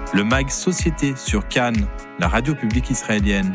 le mag Société sur Cannes, la radio publique israélienne.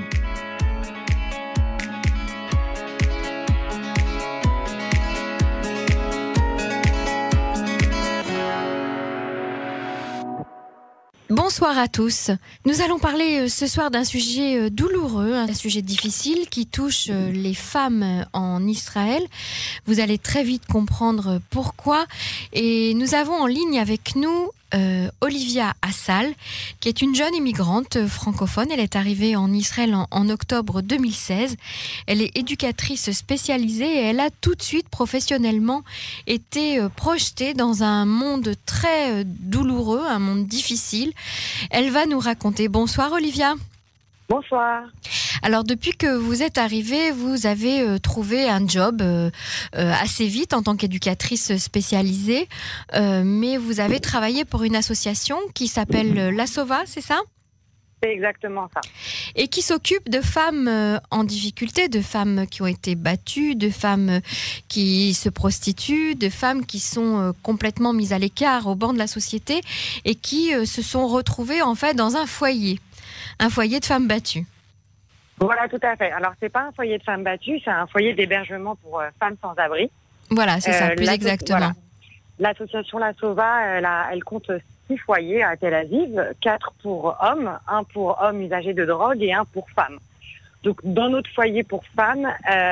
Bonsoir à tous. Nous allons parler ce soir d'un sujet douloureux, un sujet difficile qui touche les femmes en Israël. Vous allez très vite comprendre pourquoi. Et nous avons en ligne avec nous Olivia Assal, qui est une jeune immigrante francophone. Elle est arrivée en Israël en octobre 2016. Elle est éducatrice spécialisée et elle a tout de suite professionnellement été projetée dans un monde très douloureux, un monde difficile. Elle va nous raconter. Bonsoir Olivia. Bonsoir. Alors depuis que vous êtes arrivée, vous avez trouvé un job assez vite en tant qu'éducatrice spécialisée, mais vous avez travaillé pour une association qui s'appelle La Sova, c'est ça ? C'est exactement ça. Et qui s'occupe de femmes en difficulté, de femmes qui ont été battues, de femmes qui se prostituent, de femmes qui sont complètement mises à l'écart au banc de la société et qui se sont retrouvées en fait dans un foyer de femmes battues. Voilà, tout à fait. Alors, c'est pas un foyer de femmes battues, c'est un foyer d'hébergement pour femmes sans abri. Voilà, c'est ça, plus exactement. Voilà. L'association La Sova, elle compte 6 foyers à Tel Aviv, 4 pour hommes, 1 pour hommes usagers de drogue et 1 pour femmes. Donc, dans notre foyer pour femmes,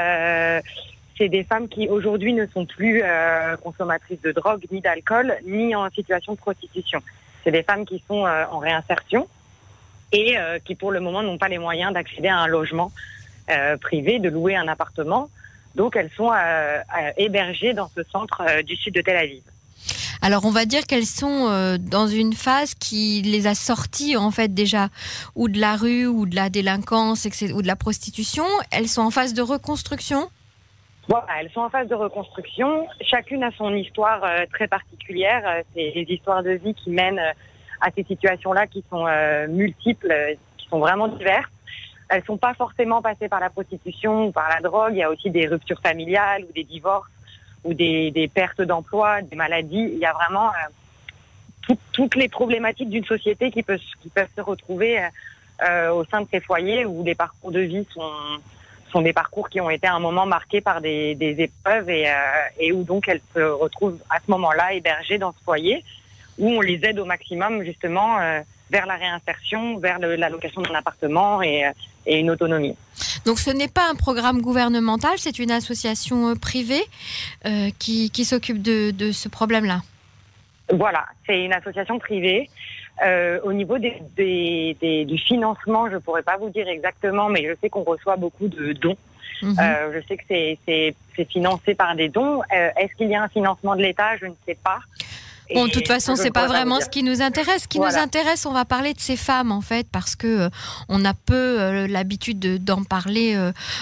c'est des femmes qui aujourd'hui ne sont plus consommatrices de drogue, ni d'alcool, ni en situation de prostitution. C'est des femmes qui sont en réinsertion et qui pour le moment n'ont pas les moyens d'accéder à un logement privé, de louer un appartement. Donc elles sont hébergées dans ce centre du sud de Tel Aviv. Alors on va dire qu'elles sont dans une phase qui les a sorties en fait déjà ou de la rue ou de la délinquance ou de la prostitution. Elles sont en phase de reconstruction. Voilà, elles sont en phase de reconstruction. Chacune a son histoire très particulière. C'est des histoires de vie qui mènent à ces situations-là qui sont multiples, qui sont vraiment diverses. Elles sont pas forcément passées par la prostitution ou par la drogue. Il y a aussi des ruptures familiales ou des divorces ou des pertes d'emploi, des maladies. Il y a vraiment toutes les problématiques d'une société qui peuvent se retrouver au sein de ces foyers où les parcours de vie sont des parcours qui ont été à un moment marqués par des épreuves et où donc elles se retrouvent à ce moment-là hébergées dans ce foyer, où on les aide au maximum justement vers la réinsertion, vers la location d'un appartement et une autonomie. Donc ce n'est pas un programme gouvernemental, c'est une association privée qui s'occupe de ce problème-là. Voilà, c'est une association privée. Au niveau du financement, je ne pourrais pas vous dire exactement, mais je sais qu'on reçoit beaucoup de dons. Je sais que c'est financé par des dons. Est-ce qu'il y a un financement de l'État ? Je ne sais pas. Bon, de toute façon, c'est pas vraiment ce qui nous intéresse. Ce qui nous intéresse, on va parler de ces femmes, en fait, parce que on a peu l'habitude d'en parler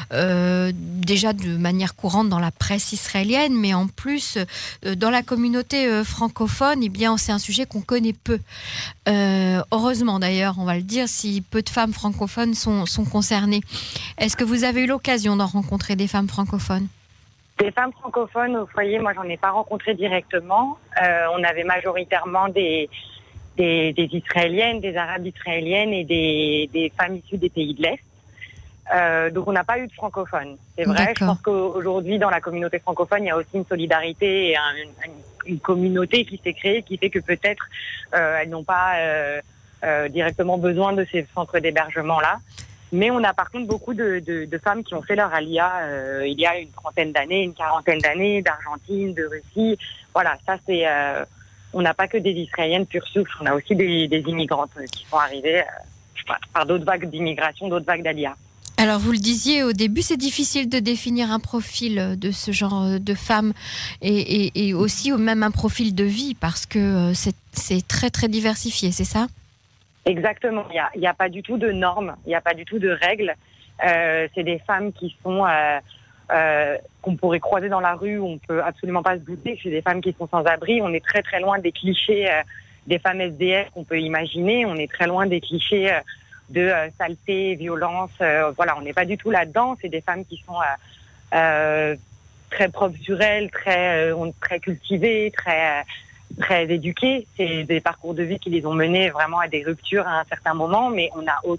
déjà de manière courante dans la presse israélienne, mais en plus, dans la communauté francophone, eh bien, c'est un sujet qu'on connaît peu. Heureusement, d'ailleurs, on va le dire, si peu de femmes francophones sont concernées. Est-ce que vous avez eu l'occasion d'en rencontrer des femmes francophones ? Des femmes francophones au foyer, moi, j'en ai pas rencontré directement. On avait majoritairement des Israéliennes, des Arabes israéliennes et des femmes issues des pays de l'Est. Donc, on n'a pas eu de francophones. C'est vrai, D'accord. Je pense qu'aujourd'hui, dans la communauté francophone, il y a aussi une solidarité et une communauté qui s'est créée, qui fait que peut-être elles n'ont pas directement besoin de ces centres d'hébergement-là. Mais on a par contre beaucoup de femmes qui ont fait leur alia il y a une trentaine d'années, une quarantaine d'années, d'Argentine, de Russie. Voilà, ça c'est... on n'a pas que des Israéliennes pure souche, on a aussi des immigrantes qui sont arrivées par d'autres vagues d'immigration, d'autres vagues d'alia. Alors vous le disiez au début, c'est difficile de définir un profil de ce genre de femmes et aussi même un profil de vie parce que c'est très très diversifié, c'est ça ? Exactement, il n'y a pas du tout de normes, il n'y a pas du tout de règles. C'est des femmes qui sont qu'on pourrait croiser dans la rue, où on peut absolument pas se douter que c'est des femmes qui sont sans abri. On est très très loin des clichés des femmes SDF qu'on peut imaginer. On est très loin des clichés de saleté, violence. Voilà, on n'est pas du tout là-dedans. C'est des femmes qui sont très propres sur elles, très cultivées, très très éduqués. C'est des parcours de vie qui les ont menés vraiment à des ruptures à un certain moment, mais on n'a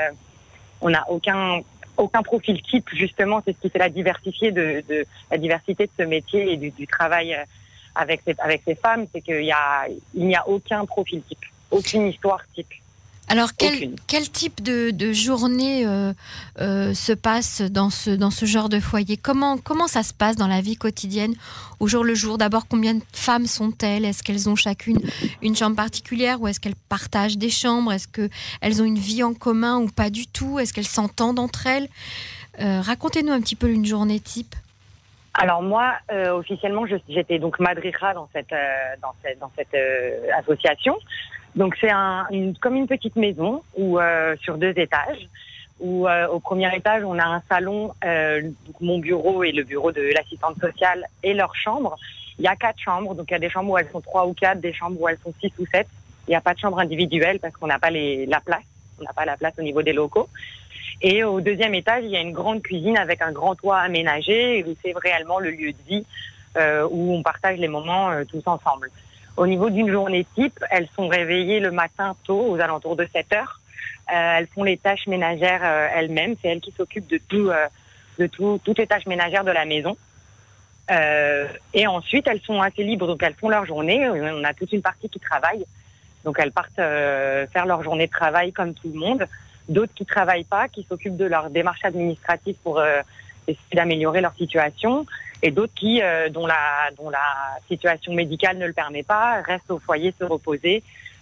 aucun profil type, justement. C'est ce qui fait la diversité de ce métier et du travail avec ces femmes, c'est qu'il n'y a aucun profil type, aucune histoire type. Alors, quel type de journée se passe dans ce genre de foyer ? Comment ça se passe dans la vie quotidienne, au jour le jour ? D'abord, combien de femmes sont-elles ? Est-ce qu'elles ont chacune une chambre particulière ou est-ce qu'elles partagent des chambres ? Est-ce qu'elles ont une vie en commun ou pas du tout ? Est-ce qu'elles s'entendent entre elles ? Racontez-nous un petit peu une journée type. Alors moi, officiellement, j'étais donc madricha dans cette association. Donc c'est comme une petite maison sur 2 étages, où au premier étage on a un salon, donc mon bureau et le bureau de l'assistante sociale et leur chambre. Il y a 4 chambres, donc il y a des chambres où elles sont 3 ou 4, des chambres où elles sont 6 ou 7. Il n'y a pas de chambre individuelle parce qu'on n'a pas la place. On n'a pas la place au niveau des locaux. Et au 2e étage, il y a une grande cuisine avec un grand toit aménagé où c'est réellement le lieu de vie où on partage les moments tous ensemble. Au niveau d'une journée type, elles sont réveillées le matin tôt, aux alentours de 7 heures. Elles font les tâches ménagères elles-mêmes. C'est elles qui s'occupent de toutes les tâches ménagères de la maison. Et ensuite, elles sont assez libres, donc elles font leur journée. On a toute une partie qui travaille. Donc elles partent faire leur journée de travail comme tout le monde. D'autres qui travaillent pas, qui s'occupent de leur démarche administrative pour essayer d'améliorer leur situation. Et d'autres dont la situation médicale ne le permet pas, restent au foyer se reposer.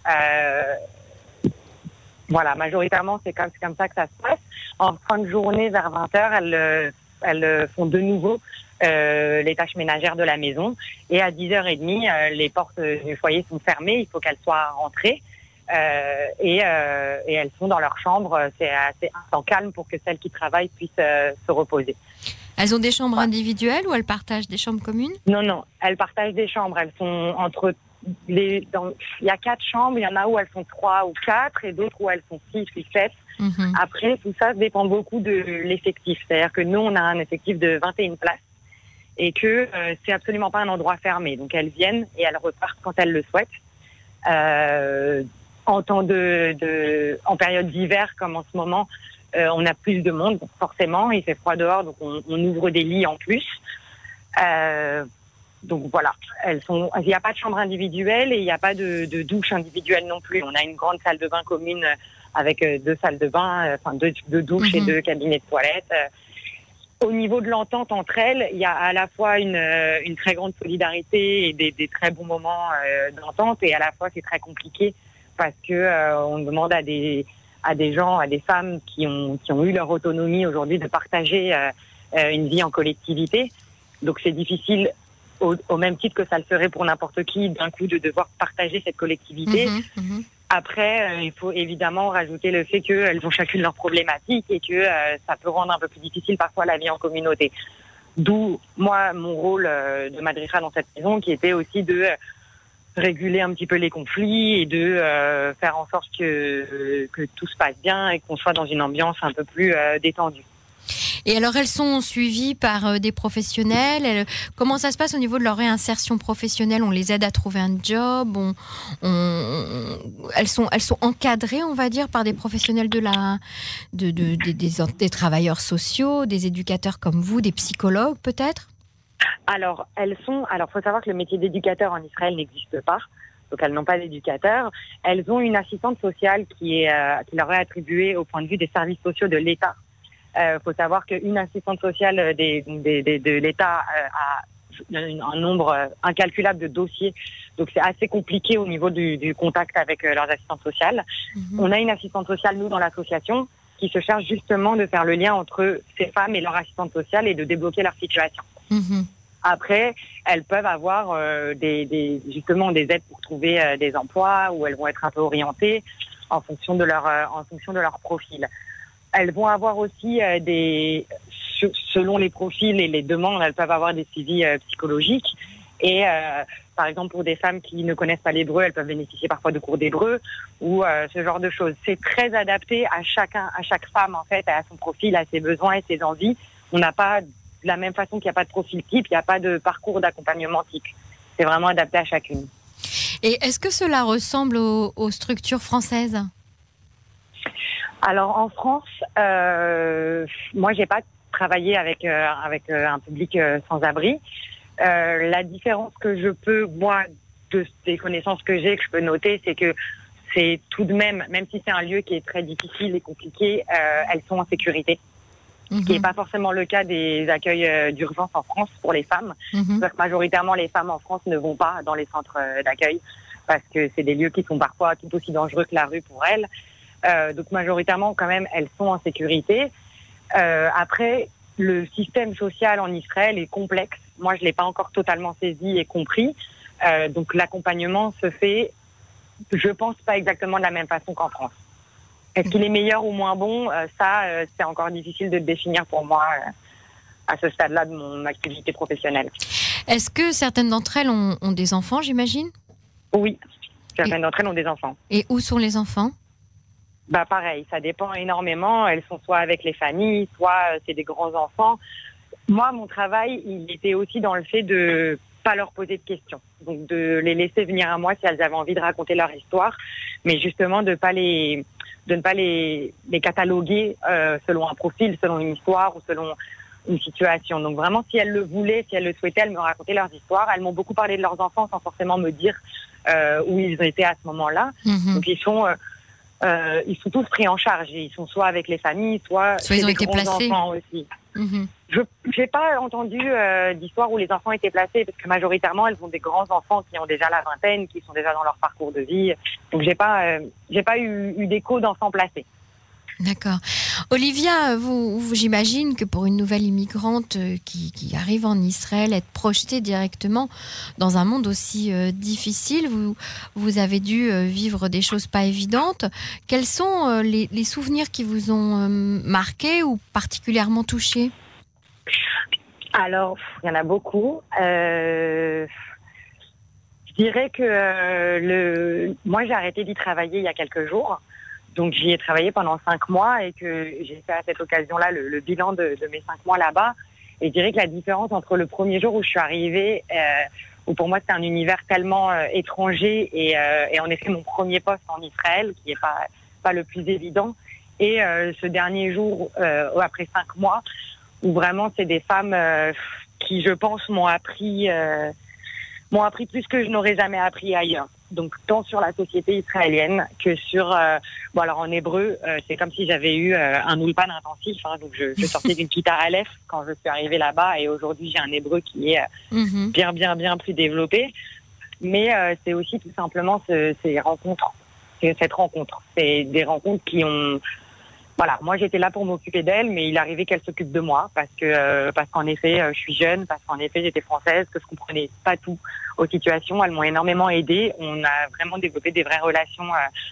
Voilà, majoritairement, c'est comme ça que ça se passe. En fin de journée, vers 20h, elles font de nouveau les tâches ménagères de la maison. Et à 10h30, les portes du foyer sont fermées, il faut qu'elles soient rentrées. Et elles sont dans leur chambre. C'est assez un temps calme pour que celles qui travaillent puissent se reposer. Elles ont des chambres individuelles ou elles partagent des chambres communes ? Non, elles partagent des chambres. Elles sont il y a 4 chambres, il y en a où elles sont 3 ou 4 et d'autres où elles sont 6 ou 7. Après, tout ça dépend beaucoup de l'effectif. C'est-à-dire que nous, on a un effectif de 21 places et que c'est absolument pas un endroit fermé. Donc elles viennent et elles repartent quand elles le souhaitent. En période d'hiver comme en ce moment, on a plus de monde, forcément, il fait froid dehors, donc on ouvre des lits en plus. Donc voilà, il n'y a pas de chambre individuelle et il n'y a pas de douche individuelle non plus. On a une grande salle de bain commune avec 2 salles de bain, enfin 2 douches et 2 cabinets de toilettes. Au niveau de l'entente entre elles, il y a à la fois une très grande solidarité et des très bons moments d'entente, et à la fois c'est très compliqué parce que on demande à des gens, à des femmes qui ont eu leur autonomie aujourd'hui de partager une vie en collectivité. Donc c'est difficile au même titre que ça le serait pour n'importe qui d'un coup de devoir partager cette collectivité. Après, il faut évidemment rajouter le fait qu'elles ont chacune leurs problématiques et que ça peut rendre un peu plus difficile parfois la vie en communauté. D'où, moi, mon rôle de madricha dans cette maison, qui était aussi de réguler un petit peu les conflits et de faire en sorte que tout se passe bien et qu'on soit dans une ambiance un peu plus détendue. Et alors, elles sont suivies par des professionnels. Comment ça se passe au niveau de leur réinsertion professionnelle ? On les aide à trouver un job. Elles sont encadrées, on va dire, par des professionnels des travailleurs sociaux, des éducateurs comme vous, des psychologues peut-être ? Alors, faut savoir que le métier d'éducateur en Israël n'existe pas. Donc, elles n'ont pas d'éducateur. Elles ont une assistante sociale qui leur est attribuée au point de vue des services sociaux de l'État. Faut savoir qu'une assistante sociale de l'État a un nombre incalculable de dossiers. Donc, c'est assez compliqué au niveau du contact avec leurs assistantes sociales. On a une assistante sociale, nous, dans l'association, qui se charge justement de faire le lien entre ces femmes et leur assistante sociale et de débloquer leur situation. Après, elles peuvent avoir justement des aides pour trouver des emplois où elles vont être un peu orientées en fonction de leur profil. Elles vont avoir aussi selon les profils et les demandes, elles peuvent avoir des suivis psychologiques. Et par exemple, pour des femmes qui ne connaissent pas l'hébreu, elles peuvent bénéficier parfois de cours d'hébreu ou ce genre de choses. C'est très adapté à chaque femme, en fait, à son profil, à ses besoins et ses envies. On n'a pas, de la même façon qu'il n'y a pas de profil type, il n'y a pas de parcours d'accompagnement type. C'est vraiment adapté à chacune. Et est-ce que cela ressemble aux structures françaises ? Alors en France, moi j'ai pas travaillé avec un public sans-abri. La différence que je peux, moi, des connaissances que j'ai, que je peux noter, c'est que c'est tout de même si c'est un lieu qui est très difficile et compliqué, elles sont en sécurité. Ce qui n'est pas forcément le cas des accueils d'urgence en France pour les femmes. Parce que majoritairement, les femmes en France ne vont pas dans les centres d'accueil parce que c'est des lieux qui sont parfois tout aussi dangereux que la rue pour elles. Donc majoritairement, quand même, elles sont en sécurité. Après, le système social en Israël est complexe. Moi, je ne l'ai pas encore totalement saisi et compris. Donc l'accompagnement se fait, je pense, pas exactement de la même façon qu'en France. Est-ce qu'il est meilleur ou moins bon ? C'est encore difficile de le définir pour moi à ce stade-là de mon activité professionnelle. Est-ce que certaines d'entre elles ont des enfants, j'imagine ? Oui, certaines d'entre elles ont des enfants. Et où sont les enfants ? Pareil, ça dépend énormément. Elles sont soit avec les familles, soit c'est des grands-enfants. Moi, mon travail, il était aussi dans le fait de pas leur poser de questions. Donc, de les laisser venir à moi si elles avaient envie de raconter leur histoire, mais justement de ne pas les cataloguer selon un profil, selon une histoire ou selon une situation. Donc vraiment, si elles le voulaient, si elles le souhaitaient, elles me racontaient leurs histoires. Elles m'ont beaucoup parlé de leurs enfants sans forcément me dire où ils étaient à ce moment-là. Donc ils sont tous pris en charge. Ils sont soit avec les familles, soit ils ont été placés. Enfants aussi. Je n'ai pas entendu d'histoire où les enfants étaient placés, parce que majoritairement, elles ont des grands-enfants qui ont déjà la vingtaine, qui sont déjà dans leur parcours de vie. Donc, j'ai pas eu d'écho d'enfants placés. D'accord. Olivia, j'imagine que pour une nouvelle immigrante qui arrive en Israël, être projetée directement dans un monde aussi difficile, vous avez dû vivre des choses pas évidentes. Quels sont les souvenirs qui vous ont marqué ou particulièrement touché ? Alors, il y en a beaucoup. Je dirais que moi, j'ai arrêté d'y travailler il y a quelques jours. Donc, j'y ai travaillé pendant 5 mois et que j'ai fait à cette occasion-là le bilan de mes 5 mois là-bas. Et je dirais que la différence entre le premier jour où je suis arrivée, où pour moi c'était un univers tellement étranger et en effet mon premier poste en Israël, qui est pas le plus évident, et ce dernier jour, après 5 mois, où vraiment c'est des femmes qui, je pense, m'ont appris plus que je n'aurais jamais appris ailleurs. Donc, tant sur la société israélienne que sur... alors en hébreu, c'est comme si j'avais eu un ulpan intensif. Donc, je sortais d'une Kita Aleph quand je suis arrivée là-bas. Et aujourd'hui, j'ai un hébreu qui est bien plus développé. Mais c'est aussi tout simplement ces rencontres. C'est cette rencontre. C'est des rencontres qui ont... Voilà, moi j'étais là pour m'occuper d'elle, mais il arrivait qu'elle s'occupe de moi parce qu'en effet je suis jeune, parce qu'en effet j'étais française, que je comprenais pas tout aux situations. Elles m'ont énormément aidée. On a vraiment développé des vraies relations,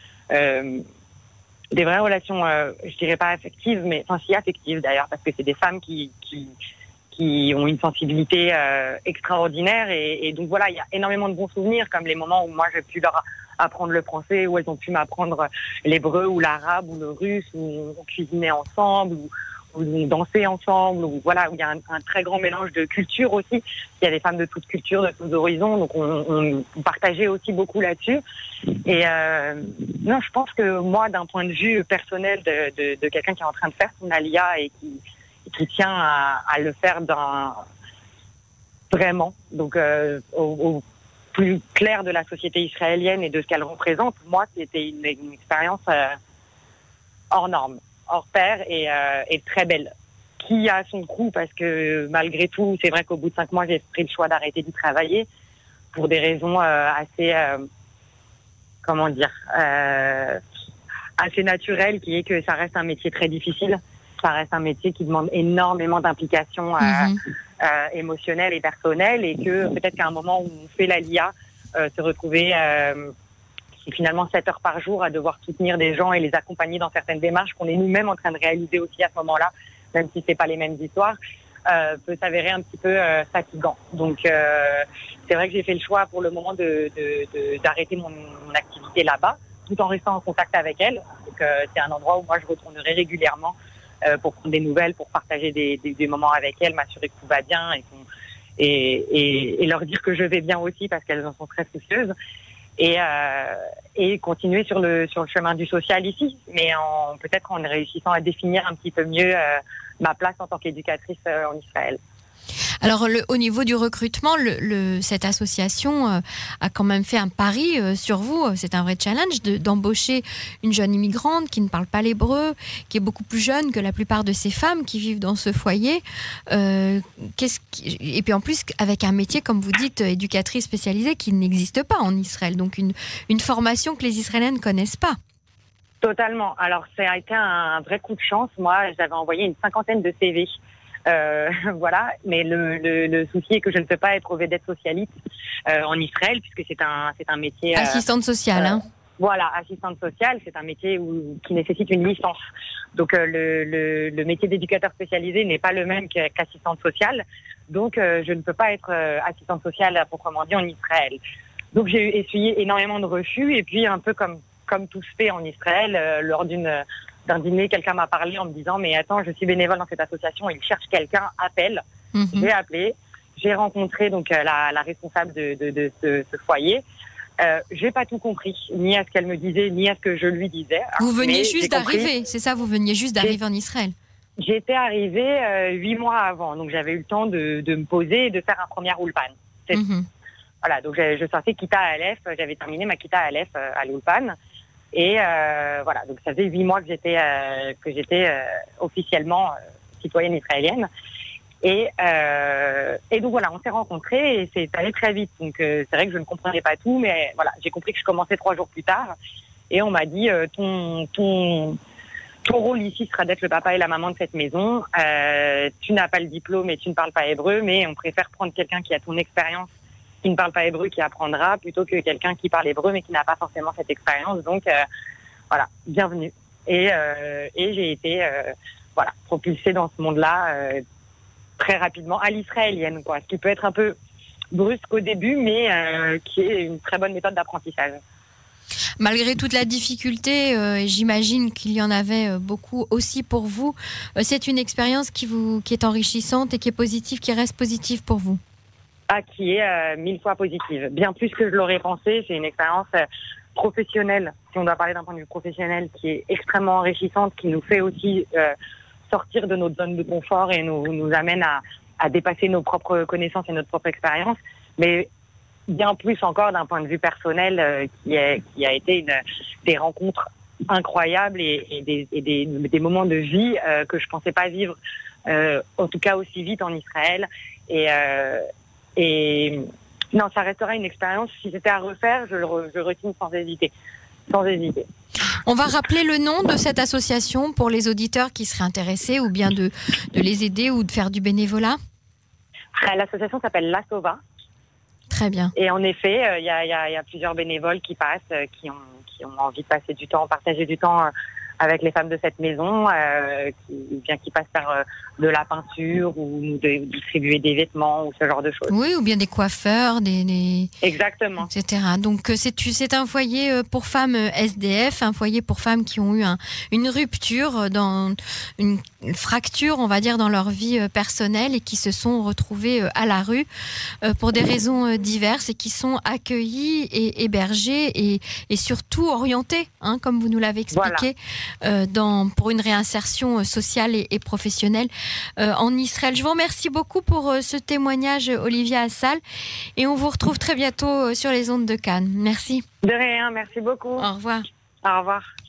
je dirais pas affectives, mais si affectives d'ailleurs, parce que c'est des femmes qui ont une sensibilité extraordinaire et donc voilà, il y a énormément de bons souvenirs, comme les moments où moi j'ai pu leur apprendre le français, où elles ont pu m'apprendre l'hébreu ou l'arabe ou le russe, où on cuisinait ensemble, où on dansait ensemble, où voilà, où il y a un très grand mélange de cultures aussi. Il y a des femmes de toutes cultures, de tous horizons, donc on partageait aussi beaucoup là-dessus. Et non, je pense que moi, d'un point de vue personnel de quelqu'un qui est en train de faire son alia et qui tient à le faire vraiment, donc au plus clair de la société israélienne et de ce qu'elle représente, moi, c'était une expérience hors norme, hors pair et très belle. Qui a son coût, parce que malgré tout, c'est vrai qu'au bout de 5 mois, j'ai pris le choix d'arrêter d'y travailler pour des raisons assez naturelles, qui est que ça reste un métier très difficile. Ça reste un métier qui demande énormément d'implication émotionnelle et personnelle, et que peut-être qu'à un moment où on fait l'ALIA, se retrouver finalement 7 heures par jour à devoir soutenir des gens et les accompagner dans certaines démarches qu'on est nous-mêmes en train de réaliser aussi à ce moment-là, même si c'est pas les mêmes histoires, peut s'avérer un petit peu fatigant. Donc c'est vrai que j'ai fait le choix pour le moment d'arrêter mon activité là-bas, tout en restant en contact avec elles. Donc c'est un endroit où moi je retournerai régulièrement pour prendre des nouvelles, pour partager des moments avec elles, m'assurer que tout va bien et leur dire que je vais bien aussi, parce qu'elles en sont très soucieuses. et continuer sur le chemin du social ici, mais peut-être en réussissant à définir un petit peu mieux ma place en tant qu'éducatrice en Israël. Alors, au niveau du recrutement, cette association a quand même fait un pari sur vous. C'est un vrai challenge d'embaucher une jeune immigrante qui ne parle pas l'hébreu, qui est beaucoup plus jeune que la plupart de ces femmes qui vivent dans ce foyer. Et puis en plus, avec un métier, comme vous dites, éducatrice spécialisée, qui n'existe pas en Israël. Donc, une formation que les Israéliens ne connaissent pas. Totalement. Alors, ça a été un vrai coup de chance. Moi, j'avais envoyé une 50aine de CV. Voilà, mais le souci est que je ne peux pas être au vedette socialiste en Israël, puisque c'est un métier assistante sociale. Voilà, assistante sociale, c'est un métier qui nécessite une licence. Donc le métier d'éducateur spécialisé n'est pas le même qu'assistante sociale. Donc je ne peux pas être assistante sociale à proprement dit en Israël. Donc j'ai essuyé énormément de refus, et puis un peu comme tout se fait en Israël, lors d'un dîner, quelqu'un m'a parlé en me disant « Mais attends, je suis bénévole dans cette association, il cherche quelqu'un, appelle. » J'ai appelé, j'ai rencontré donc la responsable de ce foyer. J'ai pas tout compris, ni à ce qu'elle me disait, ni à ce que je lui disais. Vous veniez juste d'arriver, c'est ça, vous veniez juste d'arriver en Israël. J'étais arrivée 8 mois avant, donc j'avais eu le temps de me poser et de faire un premier ulpan. Voilà, donc je sortais Kita Aleph, j'avais terminé ma Kita Aleph à l'ulpan. Et voilà, donc ça faisait 8 mois que j'étais officiellement citoyenne israélienne. Et donc voilà, on s'est rencontrés et c'est allé très vite. Donc c'est vrai que je ne comprenais pas tout, mais voilà, j'ai compris que je commençais 3 jours plus tard. Et on m'a dit ton rôle ici sera d'être le papa et la maman de cette maison. Tu n'as pas le diplôme et tu ne parles pas hébreu, mais on préfère prendre quelqu'un qui a ton expérience, qui ne parle pas hébreu, qui apprendra, plutôt que quelqu'un qui parle hébreu mais qui n'a pas forcément cette expérience. Donc voilà, bienvenue. Et j'ai été propulsée dans ce monde-là très rapidement à l'israélienne, quoi. Ce qui peut être un peu brusque au début, mais qui est une très bonne méthode d'apprentissage. Malgré toute la difficulté, et j'imagine qu'il y en avait beaucoup aussi pour vous, c'est une expérience qui est enrichissante et qui est positive, qui reste positive pour vous. Qui est 1000 fois positive. Bien plus que je l'aurais pensé. C'est une expérience professionnelle, si on doit parler d'un point de vue professionnel, qui est extrêmement enrichissante, qui nous fait aussi sortir de notre zone de confort et nous amène à dépasser nos propres connaissances et notre propre expérience. Mais bien plus encore d'un point de vue personnel, qui a été des rencontres incroyables et des moments de vie que je pensais pas vivre, en tout cas aussi vite en Israël. Et non, ça restera une expérience. Si c'était à refaire, je le retiens sans hésiter. Sans hésiter. On va rappeler le nom de cette association pour les auditeurs qui seraient intéressés, ou bien de les aider ou de faire du bénévolat. L'association s'appelle La Sova. Très bien. Et en effet, il y a plusieurs bénévoles qui passent, qui ont envie de passer du temps, partager du temps avec les femmes de cette maison, qui passent faire de la peinture ou de distribuer des vêtements ou ce genre de choses. Oui, ou bien des coiffeurs, Exactement. Etc. Donc c'est un foyer pour femmes SDF, un foyer pour femmes qui ont eu une rupture, une fracture, on va dire, dans leur vie personnelle et qui se sont retrouvées à la rue pour des raisons diverses et qui sont accueillies et hébergées et surtout orientées, comme vous nous l'avez expliqué. Voilà. Pour une réinsertion sociale et professionnelle en Israël. Je vous remercie beaucoup pour ce témoignage, Olivia Assal, et on vous retrouve très bientôt sur les ondes de Cannes. Merci. De rien, merci beaucoup. Au revoir. Au revoir.